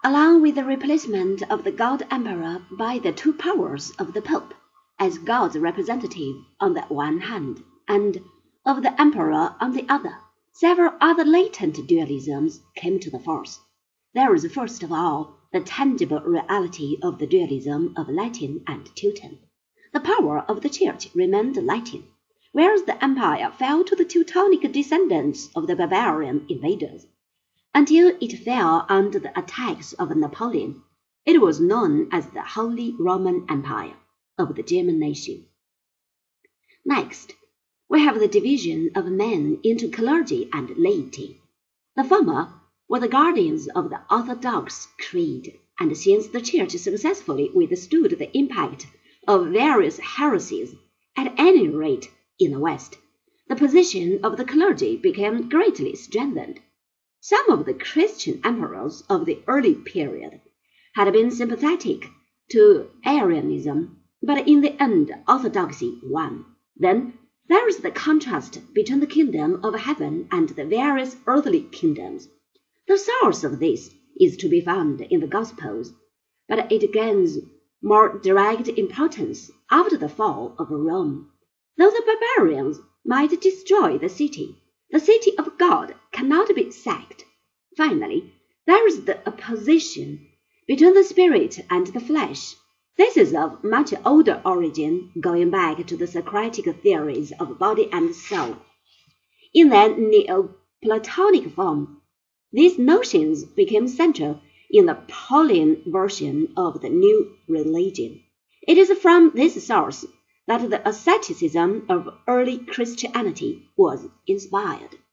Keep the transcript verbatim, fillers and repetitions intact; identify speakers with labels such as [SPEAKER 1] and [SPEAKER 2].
[SPEAKER 1] along with the replacement of the God-Emperor by the two powers of the Pope, as God's representative on the one hand, and of the Emperor on the other, several other latent dualisms came to the fore. There is first of all the tangible reality of the dualism of Latin and Teuton. The power of the Church remained Latin, whereas the empire fell to the Teutonic descendants of the barbarian invaders. Until it fell under the attacks of Napoleon, it was known as the Holy Roman Empire of the German nation. Next, we have the division of men into clergy and laity. The former were the guardians of the Orthodox creed, and since the Church successfully withstood the impact of various heresies, at any rate in the West, the position of the clergy became greatly strengthened. Some of the Christian emperors of the early period had been sympathetic to Arianism, but in the end orthodoxy won. Then there is the contrast between the kingdom of heaven and the various earthly kingdoms. The source of this is to be found in the Gospels, but it gains more direct importance after the fall of Rome. Though the barbarians might destroy the city, the city of God cannot be sacked. Finally, there is the opposition between the spirit and the flesh. This is of much older origin, going back to the Socratic theories of body and soul. In their Neoplatonic form, these notions became central in the Pauline version of the new religion. It is from this source that the asceticism of early Christianity was inspired.